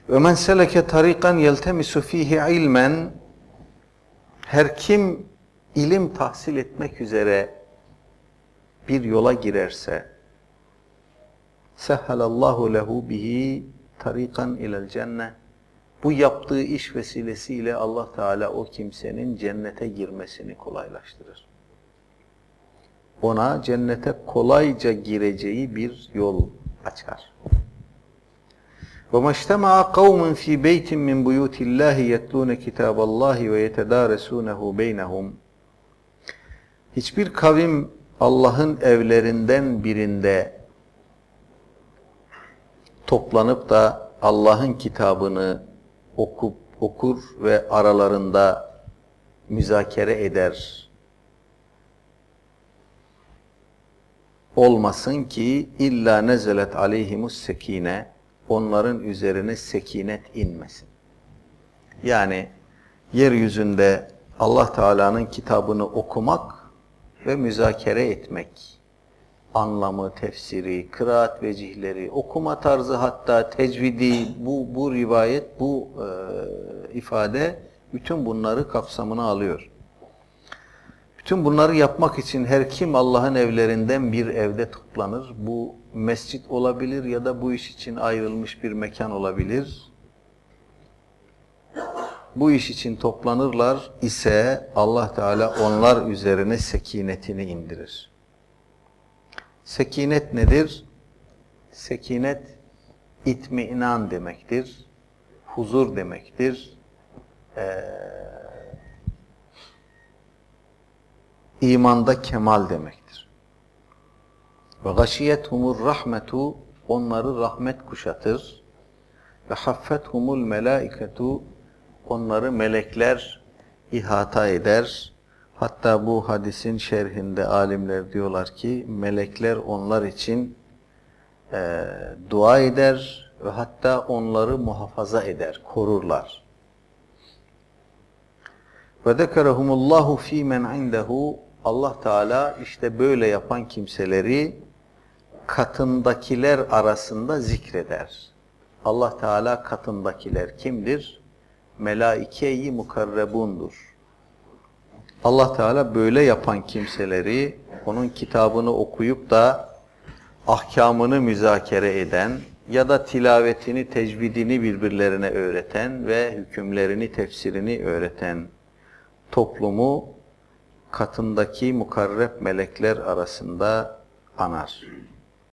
Ve men seleke tariqan yeltemisu fihi ilmen, her kim ilim tahsil etmek üzere bir yola girerse, sehhalallahu lehu bihi tariqan ilel cennet, bu yaptığı iş vesilesiyle Allah Teala o kimsenin cennete girmesini kolaylaştırır. Ona cennete kolayca gireceği bir yol açar. وَمَا اجْتَمَعَ قَوْمٌ ف۪ي بَيْتٍ مِّنْ بُيُوتِ اللّٰهِ يَتْلُونَ كِتَابَ اللّٰهِ وَيَتَدَارَسُونَهُ بَيْنَهُمْ. Hiçbir kavim Allah'ın evlerinden birinde toplanıp da Allah'ın kitabını okur ve aralarında müzakere eder. Olmasın ki illa nezelet aleyhimus sekine, onların üzerine sekinet inmesin. Yani yeryüzünde Allah Teala'nın kitabını okumak ve müzakere etmek, anlamı, tefsiri, kıraat vecihleri, okuma tarzı, hatta tecvidi, bu rivayet, bu ifade bütün bunları kapsamına alıyor. Bütün bunları yapmak için her kim Allah'ın evlerinden bir evde toplanır, bu mescit olabilir ya da bu iş için ayrılmış bir mekan olabilir. Bu iş için toplanırlar ise Allah Teala onlar üzerine sekinetini indirir. Sekinet nedir? Sekinet itminan demektir, huzur demektir, imanda kemal demektir. Ve gashiyethumur rahmetu, onları rahmet kuşatır. Ve haffethumul melaiketu, onları melekler ihata eder. Hatta bu hadisin şerhinde alimler diyorlar ki melekler onlar için dua eder ve hatta onları muhafaza eder, korurlar. Ve zekerehumullahu fî men indehu, Allah Teala işte böyle yapan kimseleri katındakiler arasında zikreder. Allah Teala katındakiler kimdir? Melaike-i mukarrebundur. Allah Teala böyle yapan kimseleri, onun kitabını okuyup da ahkamını müzakere eden ya da tilavetini, tecvidini birbirlerine öğreten ve hükümlerini, tefsirini öğreten toplumu katındaki mukarreb melekler arasında anar.